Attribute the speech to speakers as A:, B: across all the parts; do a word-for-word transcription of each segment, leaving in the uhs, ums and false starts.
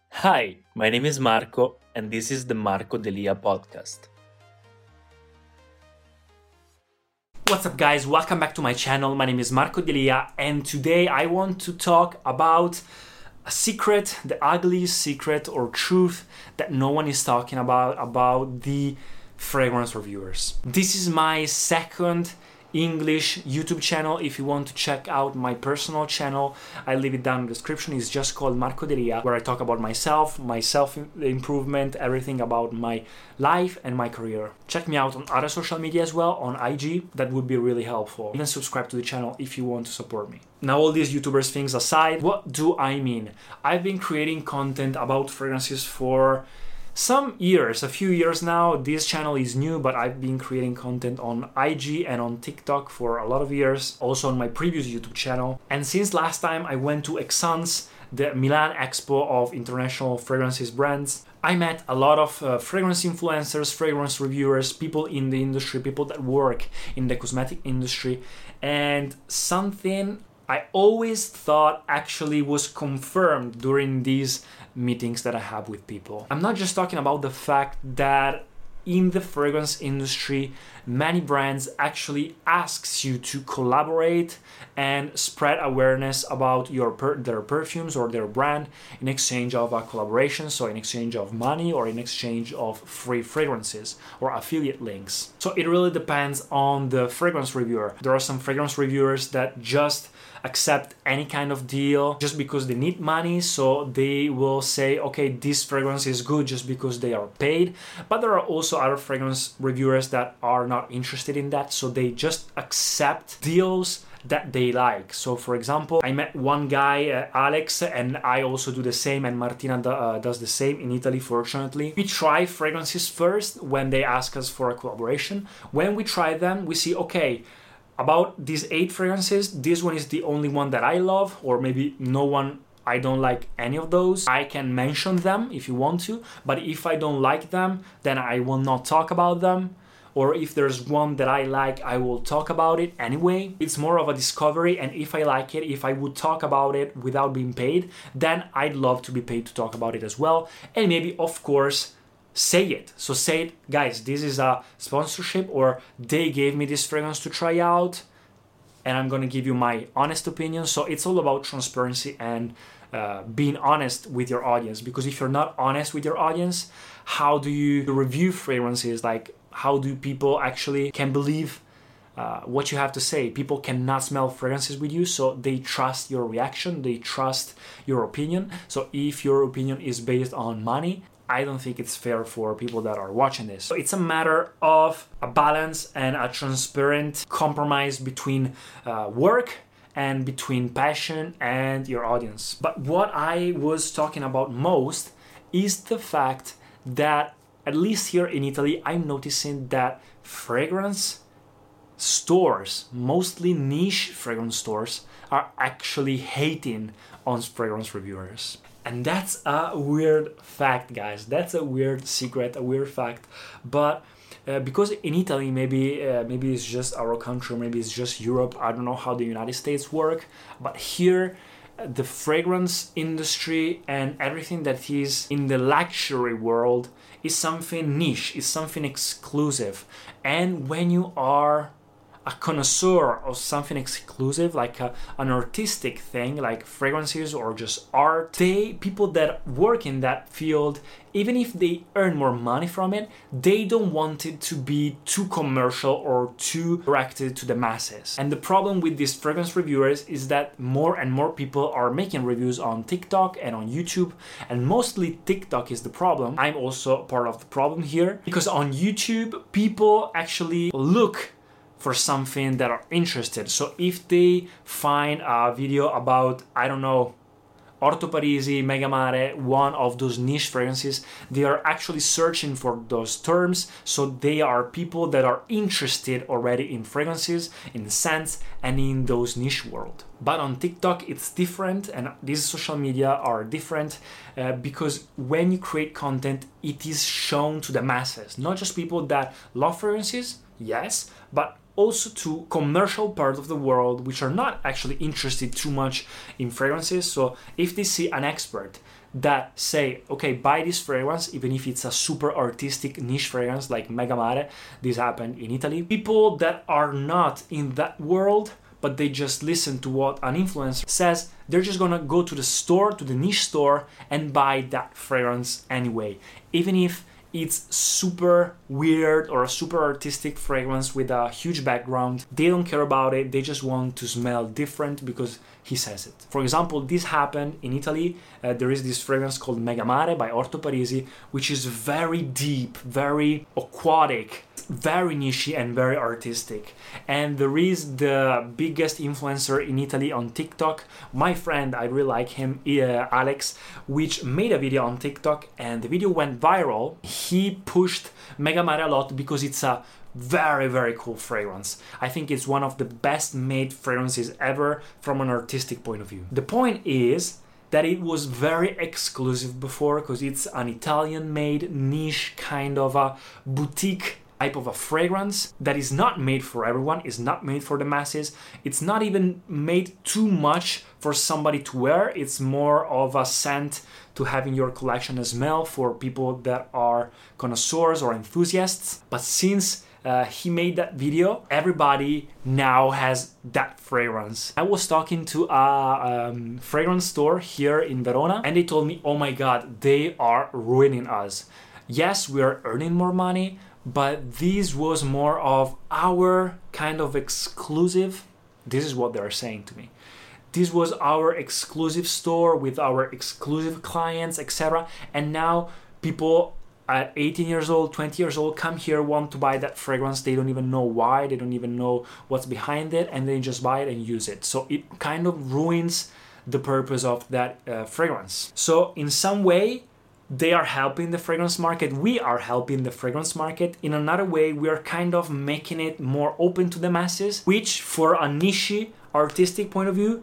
A: Hi, my name is Marco, and this is the Marco Delia podcast. What's up, guys? Welcome back to my channel. My name is Marco Delia, and today I want to talk about a secret, the ugliest secret or truth that no one is talking about, about the fragrance reviewers. This is my second English YouTube channel. If you want to check out my personal channel, I leave it down in the description. It's just called Marco Delia, where I talk about myself, my self-improvement, everything about my life and my career. Check me out on other social media as well, on I G. That would be really helpful. Even subscribe to the channel if you want to support me. Now, all these YouTubers things aside, what do I mean? I've been creating content about fragrances for some years, a few years now. This channel is new, but I've been creating content on I G and on TikTok for a lot of years, also on my previous YouTube channel. And since last time I went to Exans, the Milan Expo of international fragrances brands, I met a lot of uh, fragrance influencers, fragrance reviewers, people in the industry, people that work in the cosmetic industry, and something I always thought actually was confirmed during these meetings that I have with people. I'm not just talking about the fact that in the fragrance industry, many brands actually asks you to collaborate and spread awareness about your per- their perfumes or their brand in exchange of a collaboration, so in exchange of money or in exchange of free fragrances or affiliate links. So it really depends on the fragrance reviewer. There are some fragrance reviewers that just accept any kind of deal just because they need money, so they will say, okay, this fragrance is good just because they are paid. But there are also other fragrance reviewers that are not interested in that, so they just accept deals that they like. So for example, I met one guy, uh, Alex, and I also do the same, and Martina do, uh, does the same in Italy, fortunately. We try fragrances first when they ask us for a collaboration. When we try them, we see, okay, about these eight fragrances, this one is the only one that I love, or maybe no one, I don't like any of those. I can mention them if you want to, but if I don't like them, then I will not talk about them. Or if there's one that I like, I will talk about it anyway. It's more of a discovery, and if I like it, if I would talk about it without being paid, then I'd love to be paid to talk about it as well. And maybe, of course, say it. So say it, guys, this is a sponsorship, or they gave me this fragrance to try out, and I'm gonna give you my honest opinion. So it's all about transparency and uh, being honest with your audience, because if you're not honest with your audience, how do you review fragrances? Like, how do people actually can believe uh, what you have to say? People cannot smell fragrances with you, so they trust your reaction, they trust your opinion. So if your opinion is based on money, I don't think it's fair for people that are watching this. So it's a matter of a balance and a transparent compromise between uh, work and between passion and your audience. But what I was talking about most is the fact that, at least here in Italy, I'm noticing that fragrance stores, mostly niche fragrance stores, are actually hating on fragrance reviewers. And that's a weird fact, guys. That's a weird secret, a weird fact. But uh, because in Italy, maybe uh, maybe it's just our country, maybe it's just Europe. I don't know how the United States work. But here, uh, the fragrance industry and everything that is in the luxury world is something niche, is something exclusive. And when you are a connoisseur of something exclusive, like a, an artistic thing, like fragrances or just art, they people that work in that field, even if they earn more money from it, they don't want it to be too commercial or too directed to the masses. And the problem with these fragrance reviewers is that more and more people are making reviews on TikTok and on YouTube, and mostly TikTok is the problem. I'm also part of the problem here, because on YouTube, people actually look for something that are interested. So if they find a video about, I don't know, Orto Parisi, Mega Mare, one of those niche fragrances, they are actually searching for those terms. So they are people that are interested already in fragrances, in scents, and in those niche world. But on TikTok, it's different, and these social media are different uh, because when you create content, it is shown to the masses, not just people that love fragrances, yes, but also to commercial part of the world which are not actually interested too much in fragrances. So if they see an expert that say, okay, buy this fragrance, even if it's a super artistic niche fragrance like Mega Mare. This happened in Italy. People that are not in that world, but they just listen to what an influencer says, they're just gonna go to the store, to the niche store, and buy that fragrance anyway. Even if it's super weird or a super artistic fragrance with a huge background, they don't care about it, they just want to smell different because he says it. For example, this happened in Italy. Uh, there is this fragrance called Mega Mare by Orto Parisi, which is very deep, very aquatic, very niche and very artistic. And there is the biggest influencer in Italy on TikTok, my friend, I really like him, uh, Alex, which made a video on TikTok, and the video went viral. He pushed Mega Mare a lot because it's a very, very cool fragrance. I think it's one of the best made fragrances ever from an artistic point of view. The point is that it was very exclusive before because it's an Italian made niche kind of a boutique type of a fragrance that is not made for everyone, is not made for the masses. It's not even made too much for somebody to wear. It's more of a scent to have in your collection as smell for people that are connoisseurs or enthusiasts. But since uh, he made that video, everybody now has that fragrance. I was talking to a um, fragrance store here in Verona, and they told me, oh my god, they are ruining us. Yes, we are earning more money, but this was more of our kind of exclusive. This is what they're saying to me. This was our exclusive store with our exclusive clients, et cetera. And now people at eighteen years old, twenty years old come here, want to buy that fragrance. They don't even know why. They don't even know what's behind it, and they just buy it and use it. So it kind of ruins the purpose of that uh, fragrance. So in some way, they are helping the fragrance market. We are helping the fragrance market. In another way, we are kind of making it more open to the masses, which for a niche artistic point of view,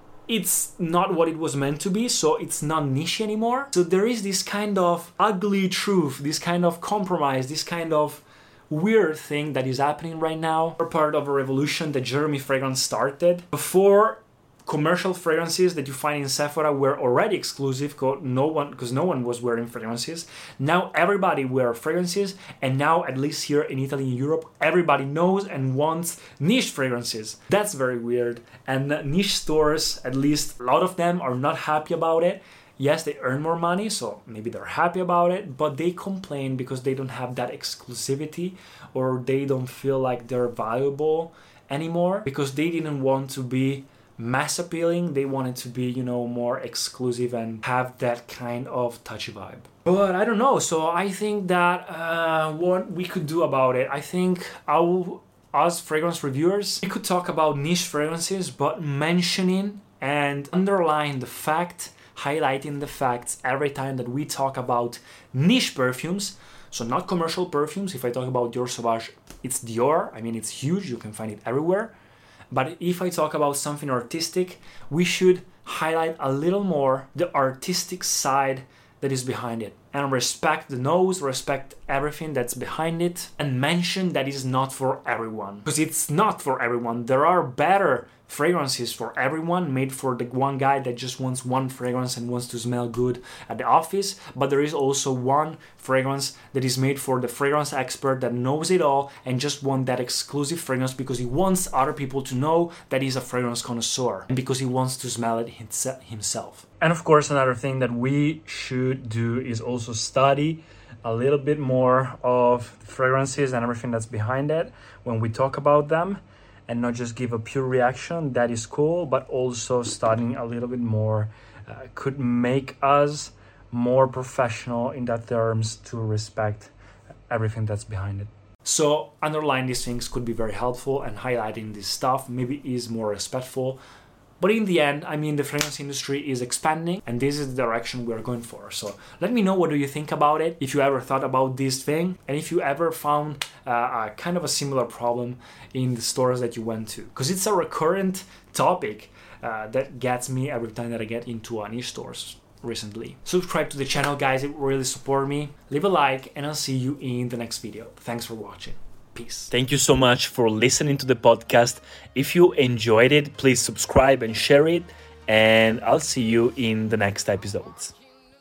A: it's not what it was meant to be, so it's not niche anymore. So there is this kind of ugly truth, this kind of compromise, this kind of weird thing that is happening right now. We're part of a revolution that Jeremy Fragrance started. Before, commercial fragrances that you find in Sephora were already exclusive because no one because no one was wearing fragrances. Now everybody wears fragrances, and now at least here in Italy and Europe, everybody knows and wants niche fragrances. That's very weird. And niche stores, at least a lot of them, are not happy about it. Yes, they earn more money, so maybe they're happy about it, but they complain because they don't have that exclusivity, or they don't feel like they're valuable anymore because they didn't want to be mass appealing. They wanted to be, you know, more exclusive and have that kind of touchy vibe. But I don't know. So I think that uh, what we could do about it, I think our, us fragrance reviewers, we could talk about niche fragrances, but mentioning and underlying the fact, highlighting the facts every time that we talk about niche perfumes. So not commercial perfumes. If I talk about Dior Sauvage, it's Dior. I mean, it's huge. You can find it everywhere. But if I talk about something artistic, we should highlight a little more the artistic side that is behind it. And respect the nose, respect everything that's behind it, and mention that it's not for everyone. Because it's not for everyone. There are better fragrances for everyone, made for the one guy that just wants one fragrance and wants to smell good at the office. But there is also one fragrance that is made for the fragrance expert that knows it all and just wants that exclusive fragrance because he wants other people to know that he's a fragrance connoisseur and because he wants to smell it himself. And of course, another thing that we should do is also study a little bit more of fragrances and everything that's behind it when we talk about them, and not just give a pure reaction. That is cool, but also studying a little bit more uh, could make us more professional in that terms to respect everything that's behind it. So underlying these things could be very helpful, and highlighting this stuff maybe is more respectful. But in the end, I mean, the fragrance industry is expanding, and this is the direction we're going for. So let me know, what do you think about it? If you ever thought about this thing, and if you ever found uh, a kind of a similar problem in the stores that you went to. Because it's a recurrent topic uh, that gets me every time that I get into a niche stores recently. Subscribe to the channel, guys. It will really support me. Leave a like, and I'll see you in the next video. Thanks for watching. Peace. Thank you so much for listening to the podcast. If you enjoyed it, please subscribe and share it, and I'll see you in the next episodes.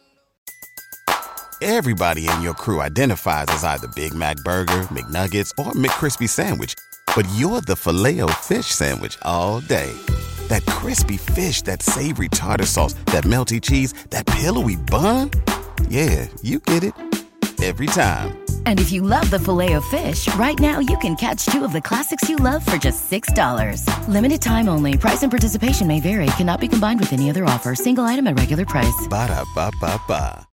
B: Everybody in your crew identifies as either Big Mac Burger, McNuggets, or McCrispy Sandwich. But you're the Filet-O-Fish Sandwich all day. That crispy fish, that savory tartar sauce, that melty cheese, that pillowy bun. Yeah, you get it. Every time.
C: And if you love the Filet-O-Fish, right now you can catch two of the classics you love for just six dollars. Limited time only. Price and participation may vary. Cannot be combined with any other offer. Single item at regular price.
B: Ba-da-ba-ba-ba.